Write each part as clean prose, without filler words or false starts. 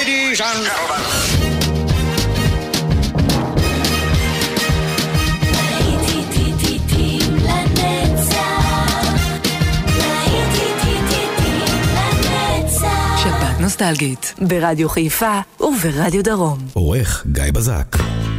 Ladies and gentlemen. שבת נוסטלגית ברדיו חיפה וברדיו דרום. עורך גיא בזק.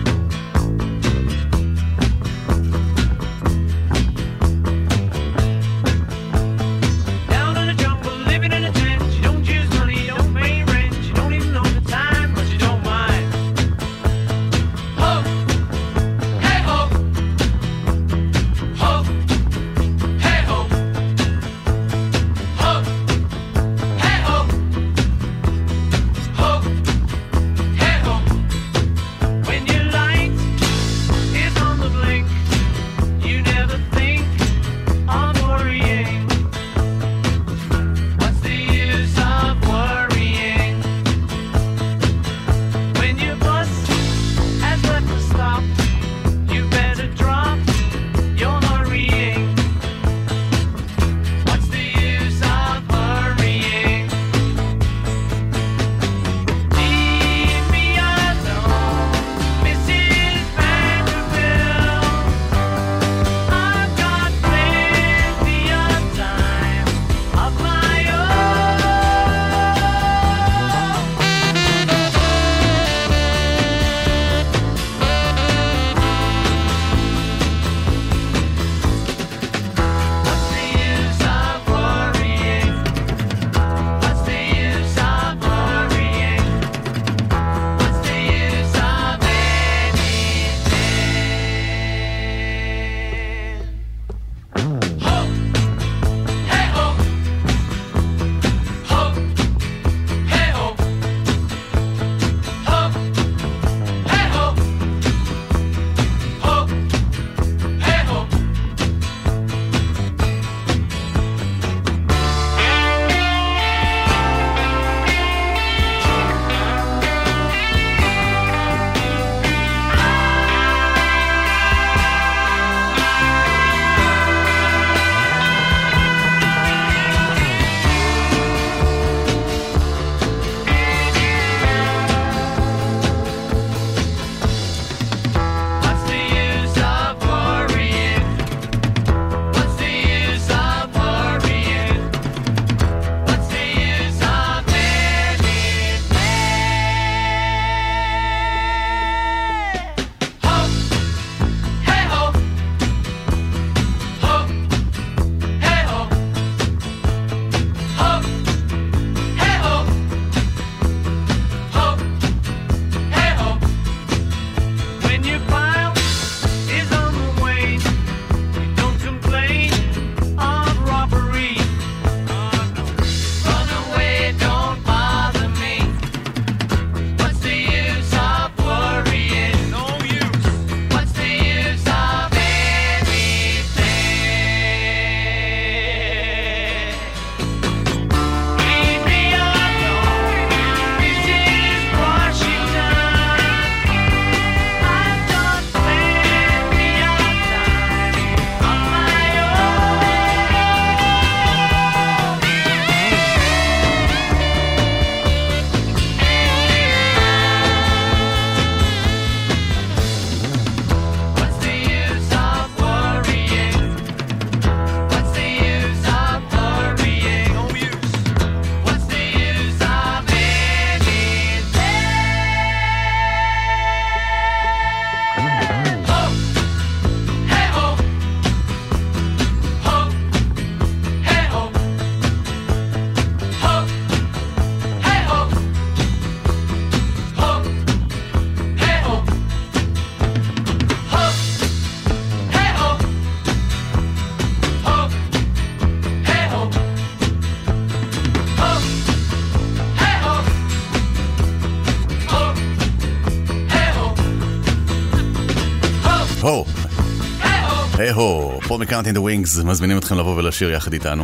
היי-הו, פול מקארטני דה ווינגס, מזמינים אתכם לבוא ולשיר יחד איתנו.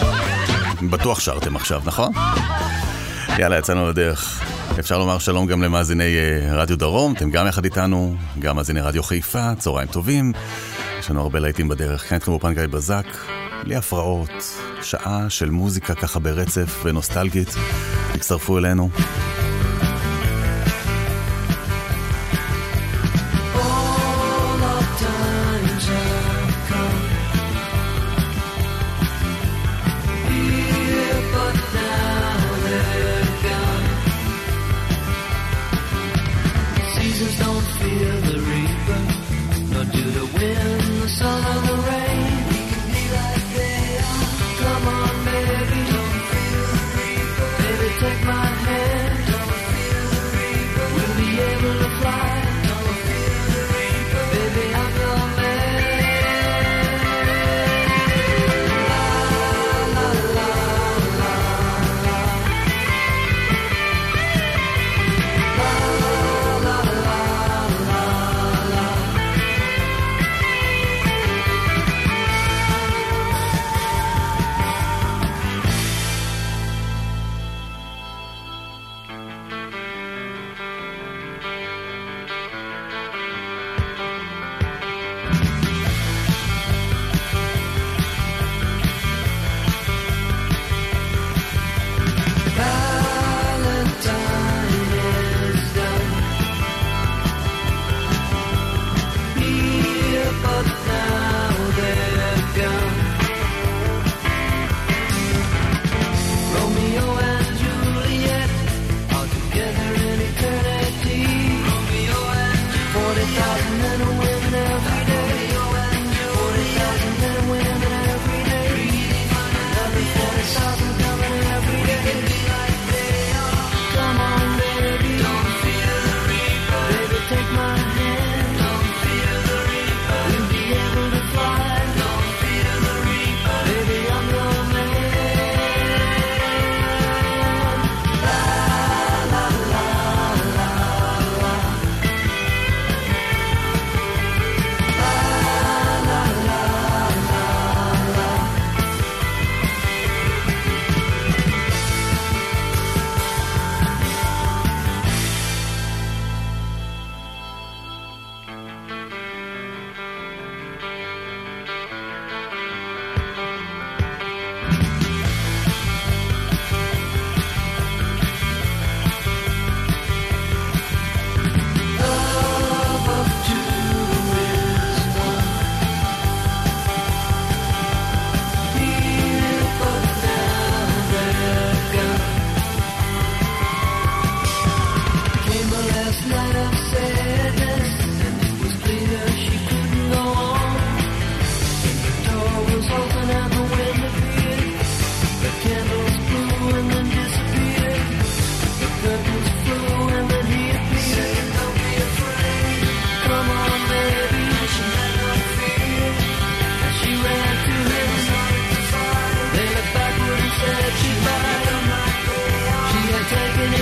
בטוח שרתם עכשיו, נכון? יאללה, יצאנו לדרך. אפשר לומר שלום גם למאזיני רדיו דרום, אתם גם יחד איתנו, גם מאזיני רדיו חיפה, צהריים טובים. יש לנו הרבה להיטים בדרך, כאן אתכם באופן גיא בזק, בלי הפרעות, שעה של מוזיקה ככה ברצף ונוסטלגית. תצטרפו אלינו.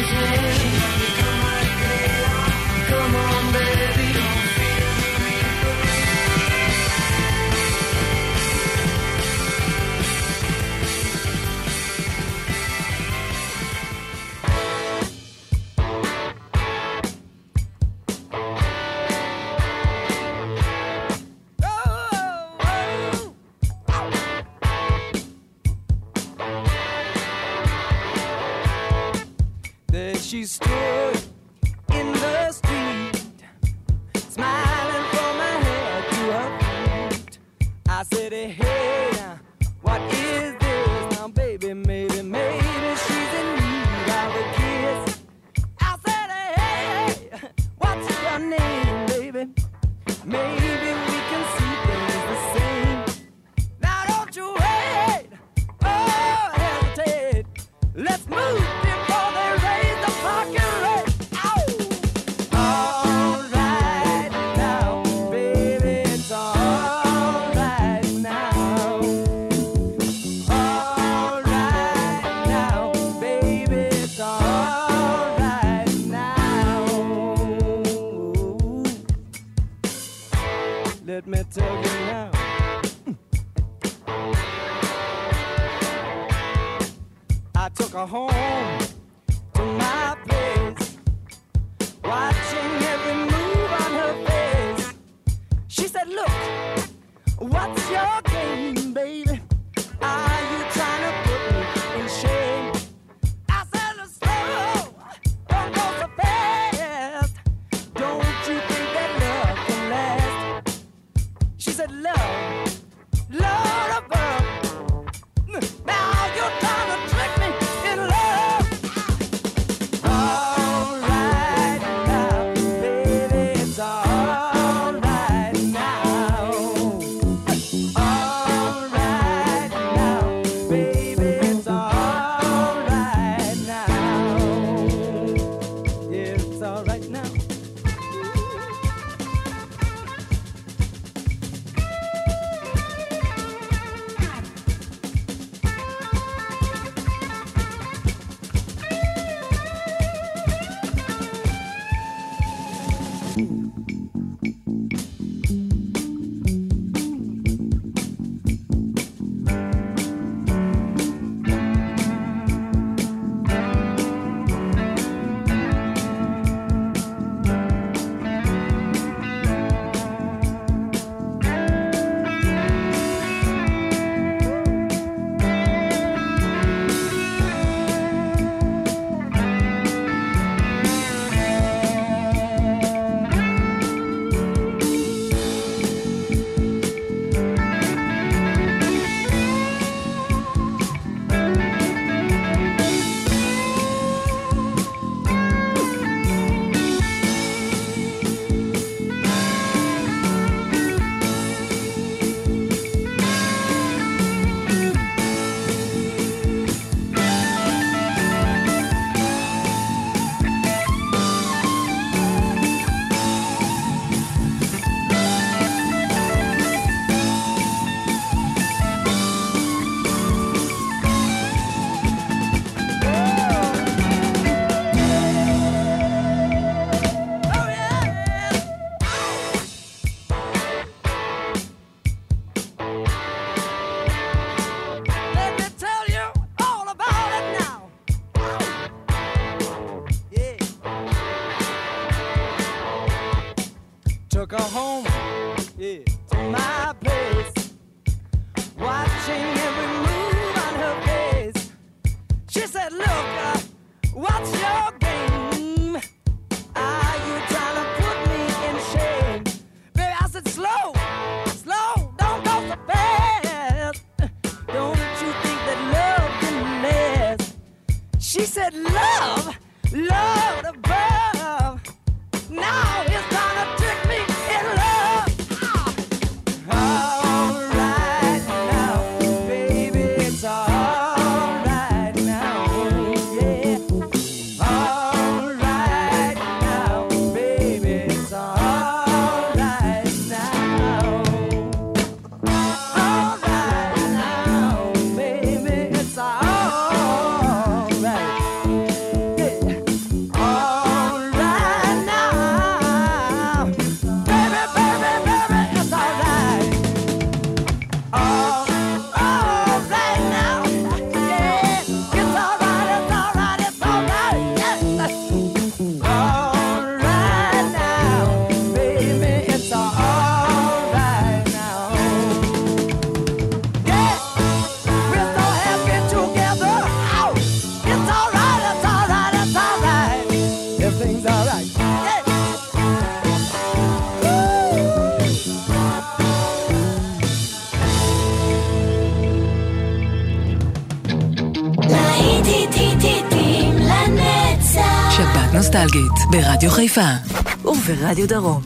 She stood in the street, smiling from her head to her feet. I said, hey, what is this? Now, baby, maybe she's in need of a kiss. I said, hey, what's your name, baby? Maybe we can see things the same. Now, don't you wait, oh, hesitate. Let's move before they raise the parking rate. All right now, baby, it's all right now. All right now, baby, it's all right now. Let me tell you now. I took her home to my place, watching every move on her face. She said, look, what's your game, baby? Are you trying to put me in shame? I said, slow, don't go so fast. Don't you think that love can last? She said, love, love above. Now you're trying to trick me in love. All right now, baby, it's all right now. All right now, baby, it's all right now. Yeah, it's all right now. Let me tell you all about it now. Yeah. Took her home, yeah, to my place, watching every move on her face. She said, look, what's your game? Are you trying to put me in shame? Baby, I said, slow, slow, don't go so fast. Don't you think that love can last? She said, love, love above. Now it's trying to trick me in love. All right now, baby. נוסטלגית, ברדיו חיפה וברדיו דרום.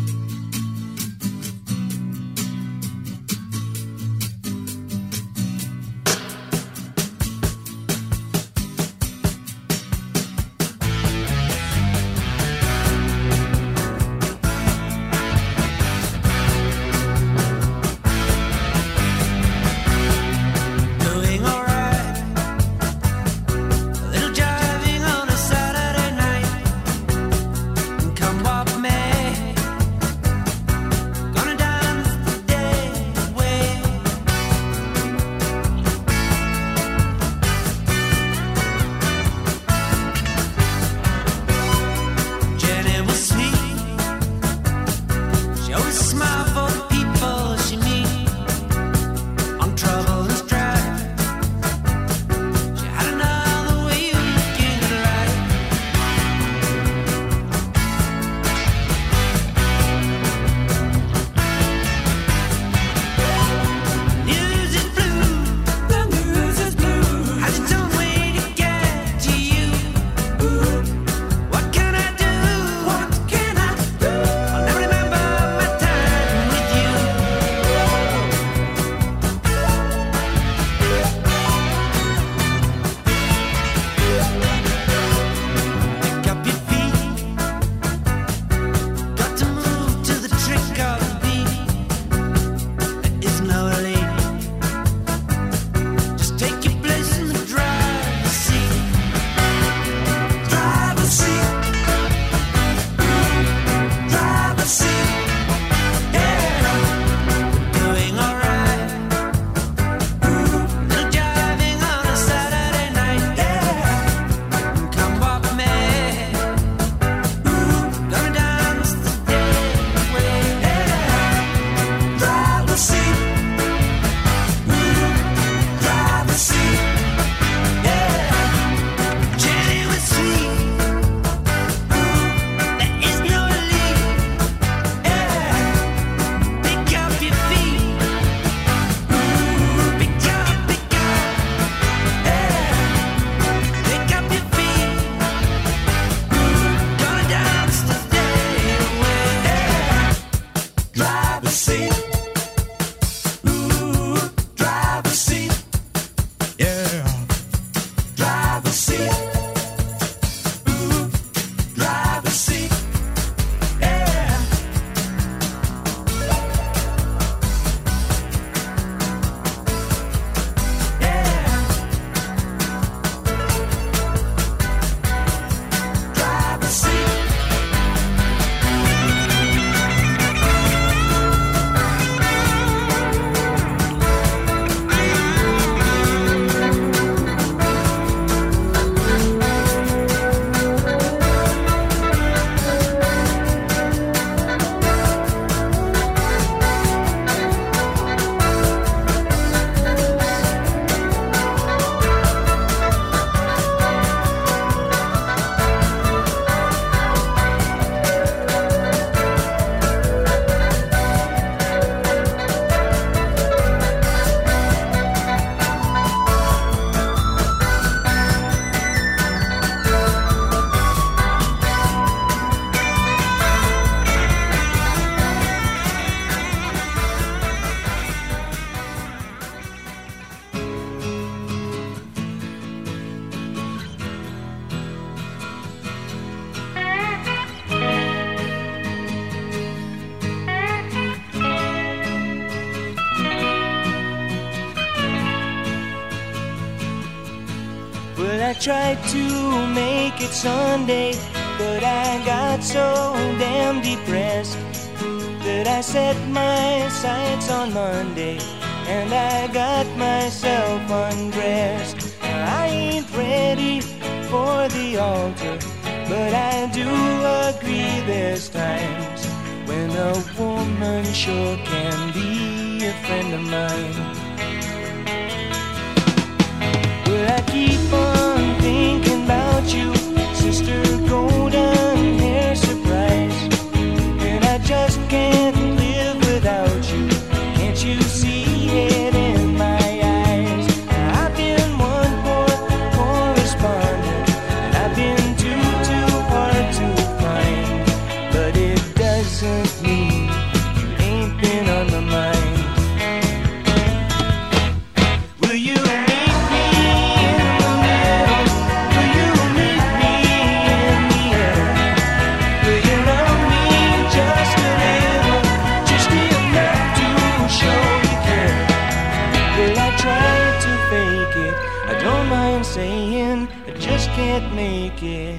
I tried to make it Sunday, but I got so damn depressed that I set my sights on Monday and I got myself undressed. I ain't ready for the altar, but I do agree there's times when a woman sure can be a friend of mine. Well, I keep on thinking about you, sister golden hair surprise, and I just can't live without you. Can't you see it in my eyes? I've been one poor correspondent, and I've been too can't make it.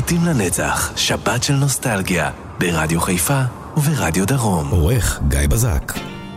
להיטים לנצח, שבת של נוסטלגיה, ברדיו חיפה וברדיו דרום. עורך גיא בזק.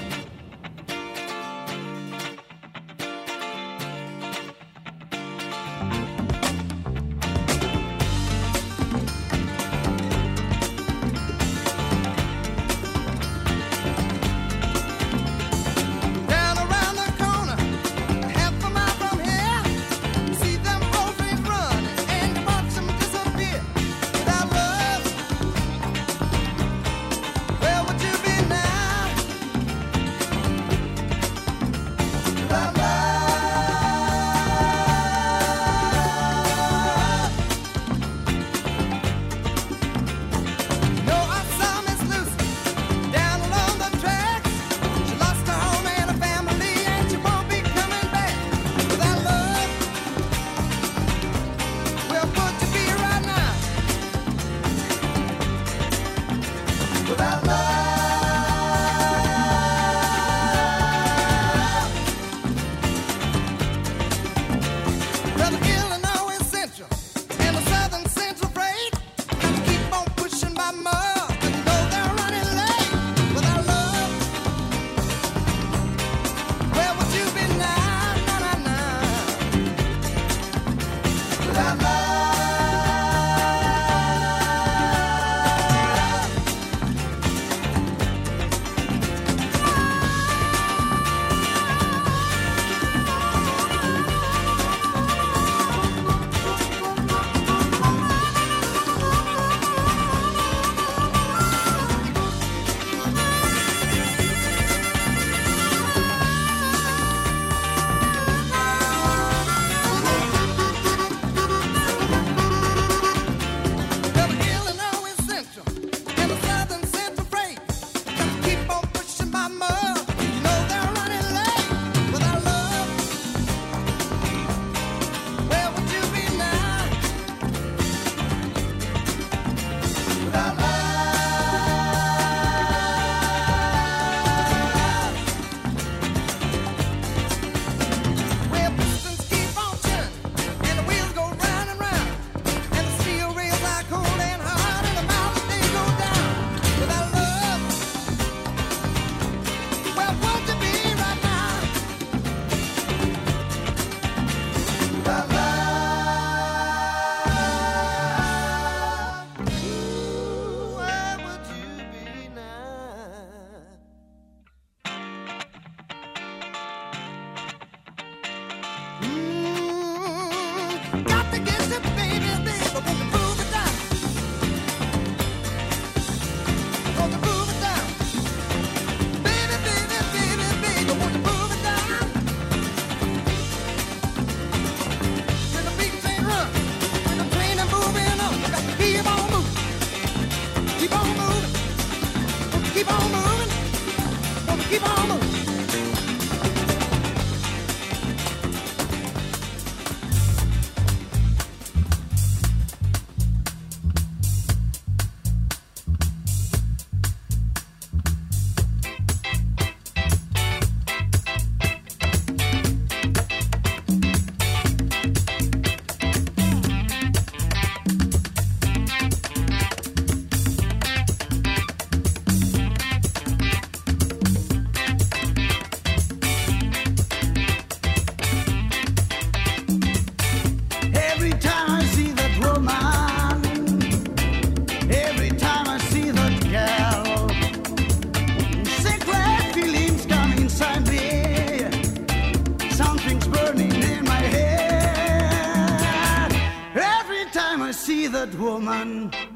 that woman.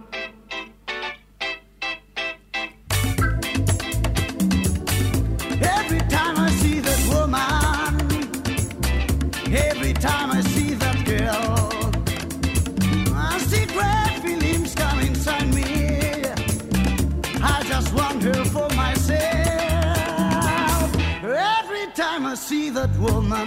Every time I see that woman, every time I see that girl, I see great feelings come inside me. I just want her for myself. Every time I see that woman,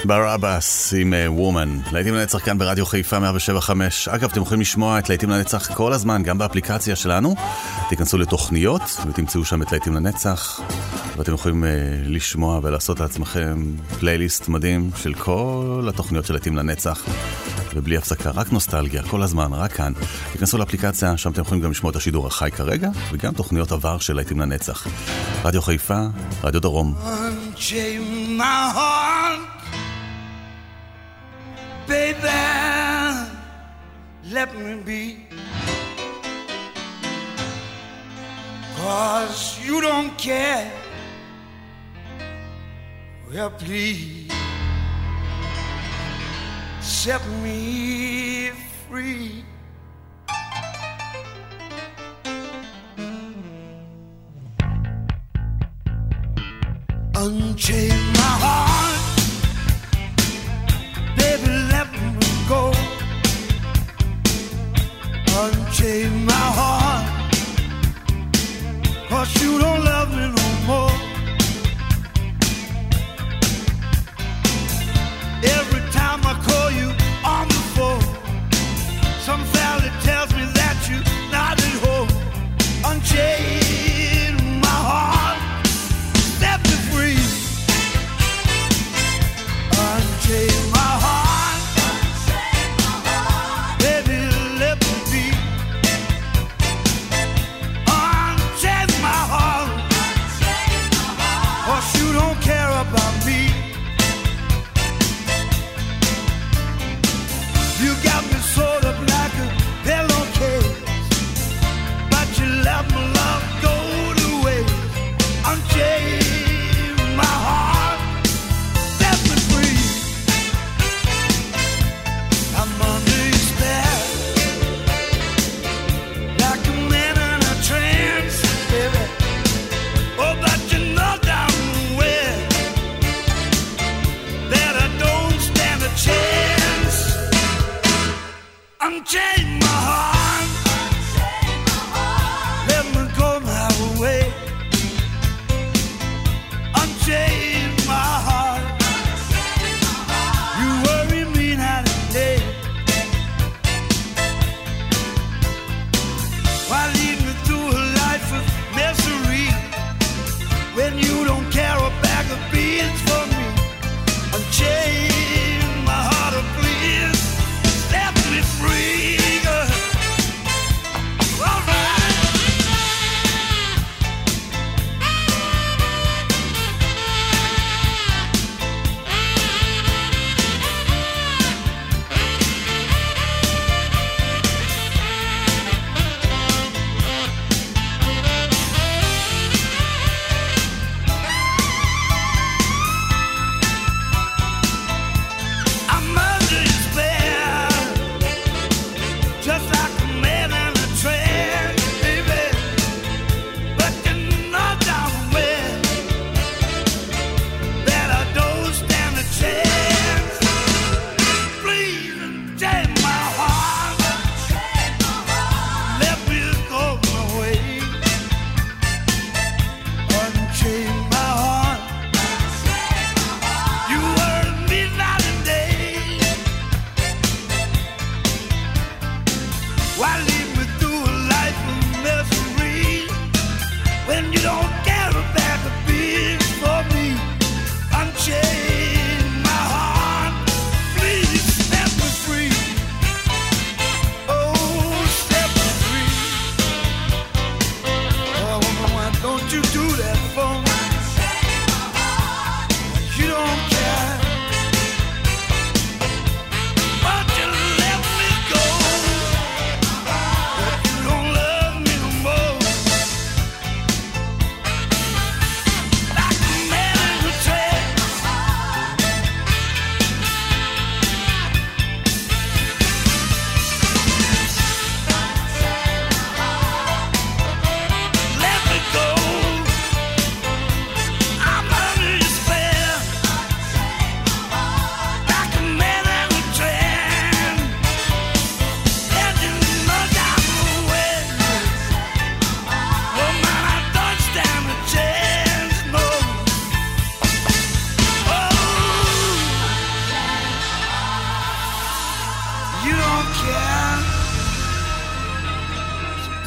ברבאס עם וומן, להיטים לנצח כאן ברדיו חיפה 107.5. אגב, אתם יכולים לשמוע את להיטים לנצח כל הזמן, גם באפליקציה שלנו. תיכנסו לתוכניות ותמצאו שם את להיטים לנצח, ואתם יכולים לשמוע ולעשות לעצמכם פלייליסט מדהים של כל התוכניות של להיטים לנצח, ובלי הפסקה, רק נוסטלגיה, כל הזמן, רק כאן. תיכנסו לאפליקציה, שם אתם יכולים גם לשמוע את השידור החי כרגע, וגם תוכניות עבר של להיטים לנצח. רדיו חיפה, רדיו דרום. Baby, let me be, 'cause you don't care. Well, please set me free. Unchain my heart, baby, let me go. Unchain my heart, 'cause you don't love me no more. Every time I call you on the phone, some fella tells me that you're not at home. Unchain my heart, set me free. Unchain my heart, baby, let me be. Unchain my heart.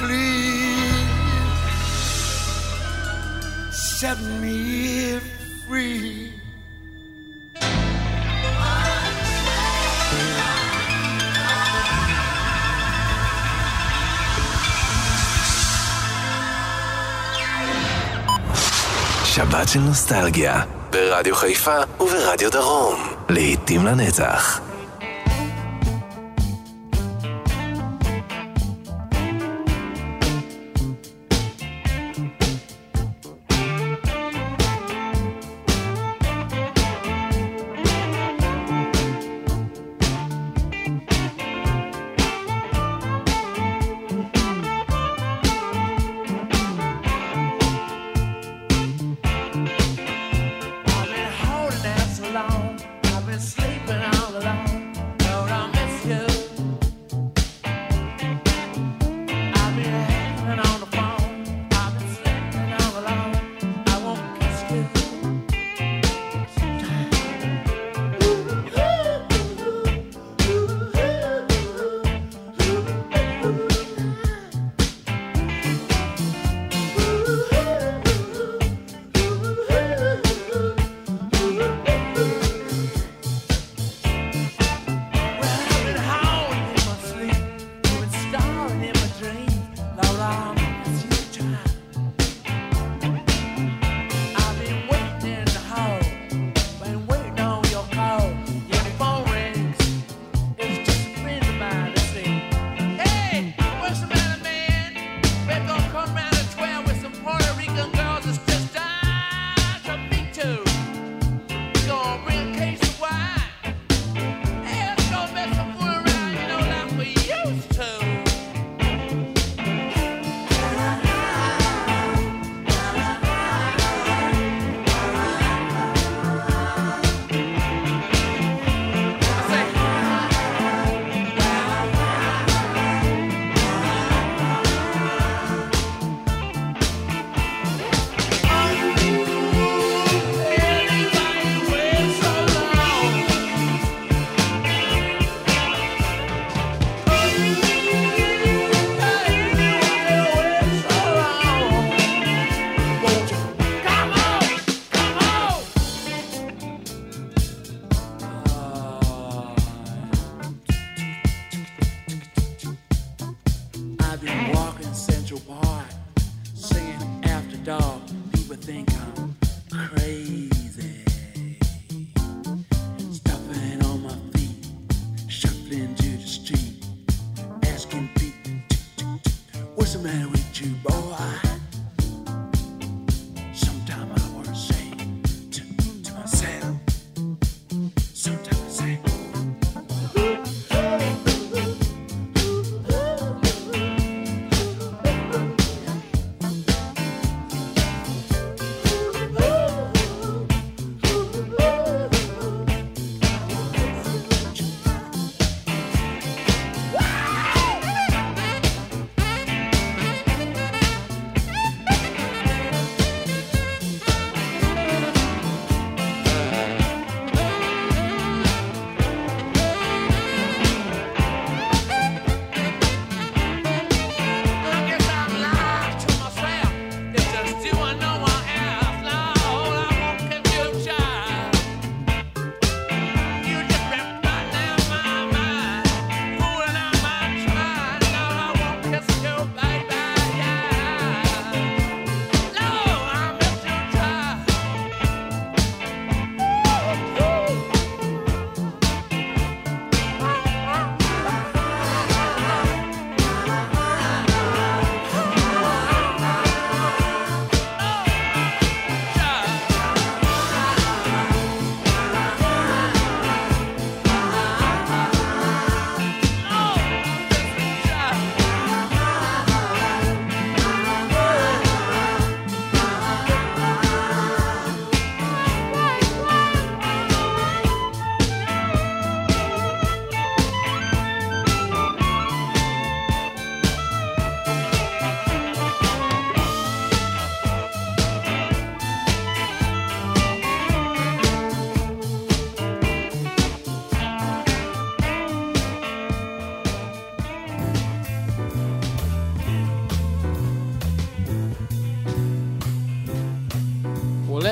please set me free. שבת של נוסטלגיה, ברדיו חיפה וברדיו דרום. לעתים לנצח.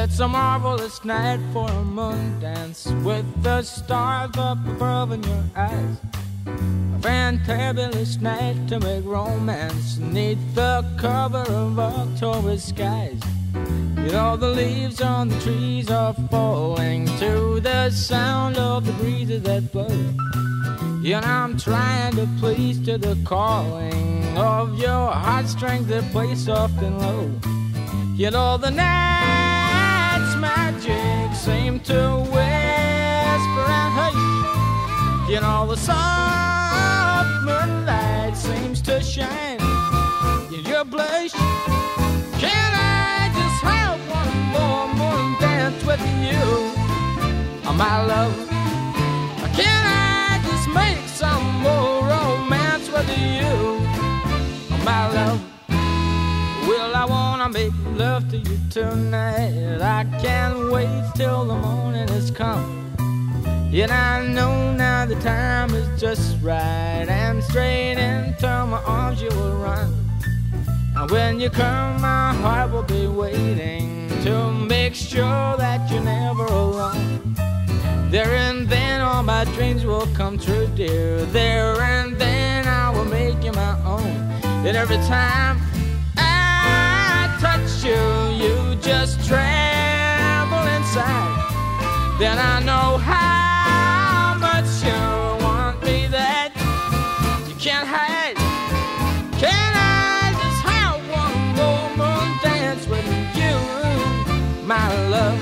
It's a marvelous night for a moon dance with the stars up above in your eyes. A fantabulous night to make romance neath the cover of October skies. You know the leaves on the trees are falling to the sound of the breezes that blow. You know I'm trying to please to the calling of your heartstrings that play soft and low. You know the night's magic seem to whisper and hush. You know the soft moonlight seems to shine in your blush. Can I just have one more moon dance with you, oh, my love? Can I just make some more romance with you, oh, my love? Well, I wanna make love to you tonight. I can't wait till the morning has come. And I know now the time is just right, and straight into my arms you will run. And when you come, my heart will be waiting to make sure that you're never alone. There and then all my dreams will come true, dear. There and then I will make you my own. And every time touch you, you just tremble inside. Then I know how much you want me that you can't hide. Can I just have one more moon dance with you, my love?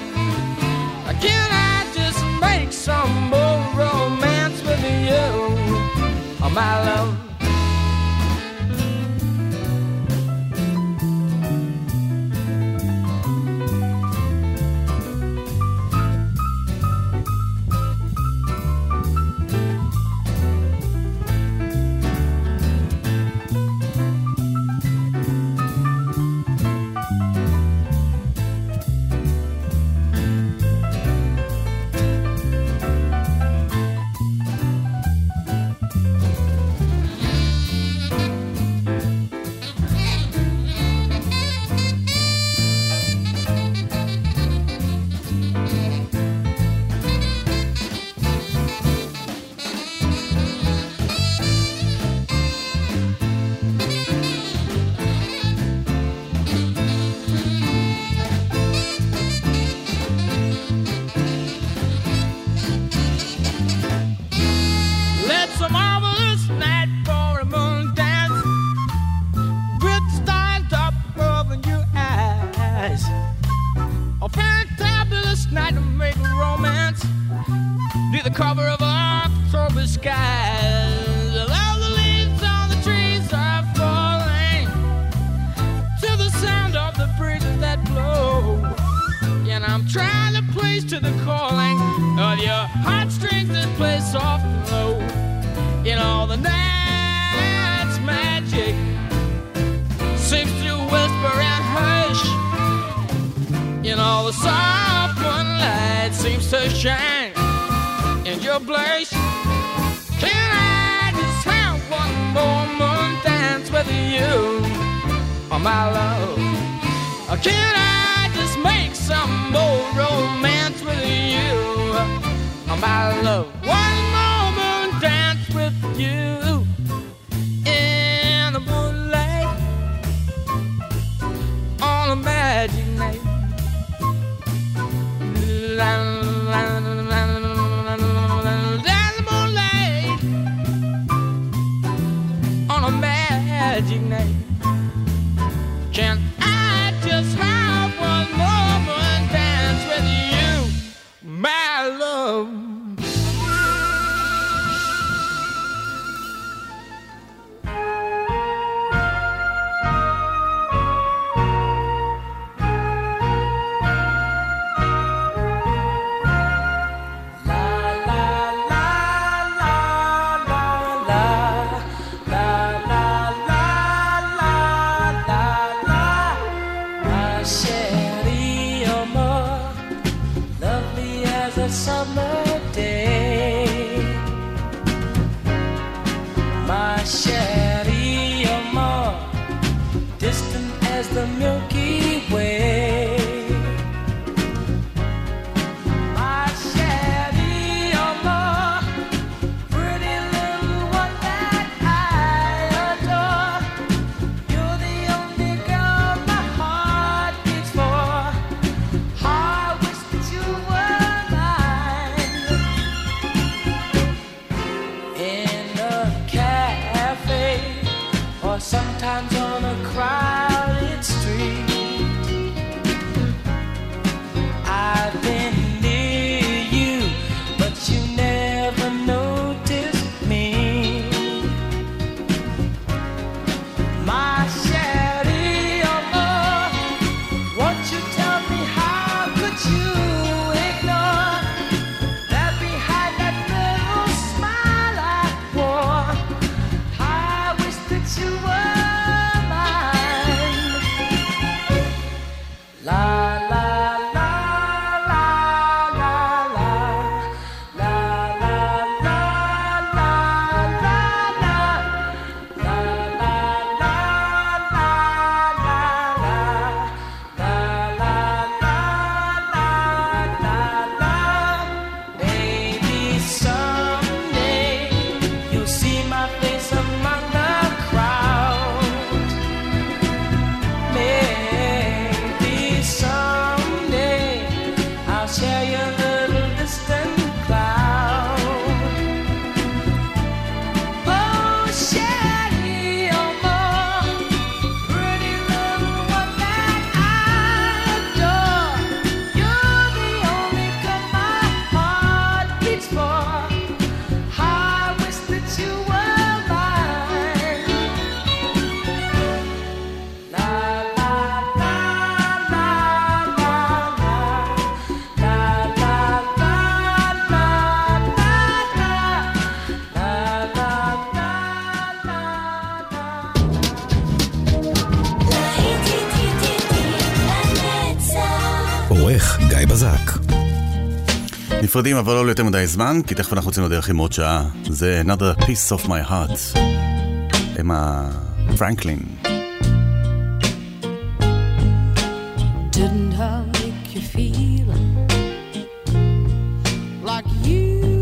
Can I just make some more romance with you, oh, my love? Distant as the Milky Way. on a crowded street. I've been near you, but you never noticed me. My Sherry, oh Lord, won't you tell me how could you ignore that behind that little smile I wore? I wish that you were mine. La la la la la la la la la la la la. La la la la la la la la la la. Maybe someday you'll see my face among the crowd. Maybe someday I'll share your little distant cloud. Oh, Sherry, oh, more pretty little one that I adore. You're the only girl my heart beats for. I wish that you were mine. La la la la la la la la la la עורך גיא בזק. נפרדים אבל לא יותר מדי זמן, כי תכף אנחנו רוצים לדרך עם עוד שעה. זה Another Piece of My Heart, אמה פרנקלין. Didn't I make you feel like you